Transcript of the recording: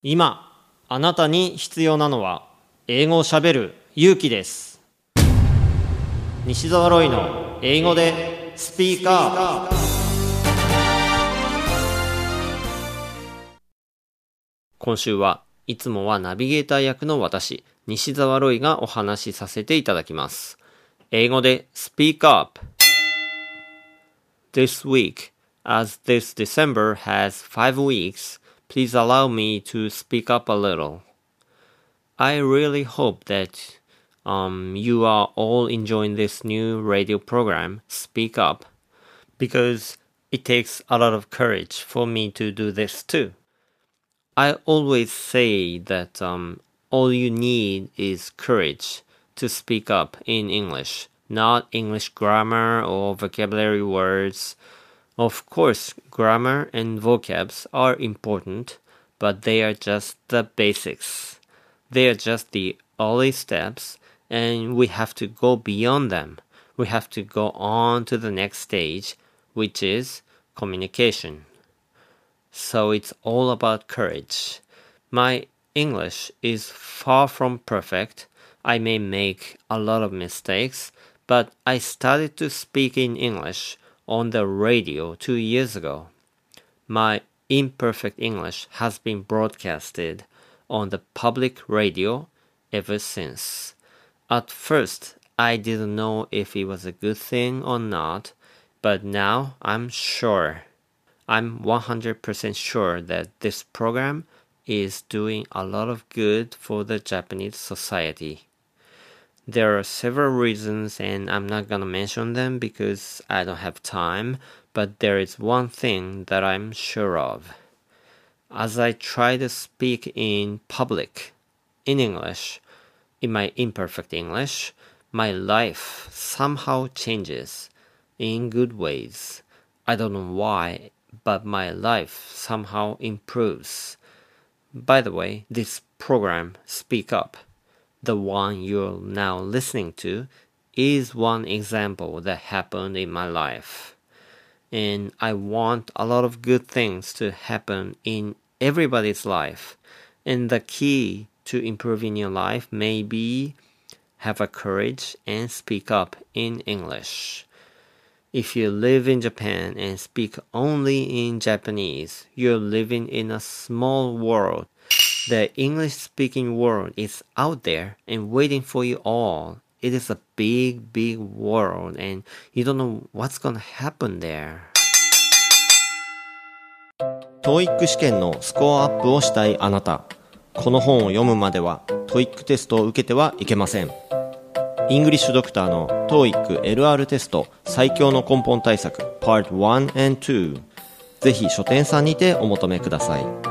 今あなたに必要なのは英語をしゃべる勇気です。西澤ロイの英語でスピーカー。今週はいつもはナビゲーター役の私西澤ロイがお話しさせていただきます。英語でスピーカーアップ。 This week, as this December has 5 weeks, please allow me to speak up a little. I really hope that you are all enjoying this new radio program, Speak Up, because it takes a lot of courage for me to do this too. I always say that all you need is courage to speak up in English, not English grammar or vocabulary words. Of course, grammar and vocabs are important, but they are just the basics. They are just the early steps, and we have to go beyond them. We have to go on to the next stage, which is communication. So it's all about courage. My English is far from perfect. I may make a lot of mistakes, but I started to speak in English on the radio 2 years ago. My imperfect English has been broadcasted on the public radio ever since. At first, I didn't know if it was a good thing or not, but now I'm 100% sure that this program is doing a lot of good for the Japanese society. There are several reasons, and I'm not gonna mention them because I don't have time, but there is one thing that I'm sure of. As I try to speak in public, in English, in my imperfect English, my life somehow changes in good ways. I don't know why, but my life somehow improves. By the way, this program, Speak Up, the one you're now listening to, is one example that happened in my life. And I want a lot of good things to happen in everybody's life. And the key to improving your life may be have a courage and speak up in English. If you live in Japan and speak only in Japanese, you're living in a small world. The English-speaking world is out there and waiting for you all. It is a big, big world, and you don't know what's gonna happen there. TOEIC 試験のスコアアップをしたいあなた。この本を読むまでは TOEIC テストを受けてはいけません。イングリッシュドクターの TOEIC LR テスト最強の根本対策 Part 1 and 2。ぜひ書店さんにてお求めください。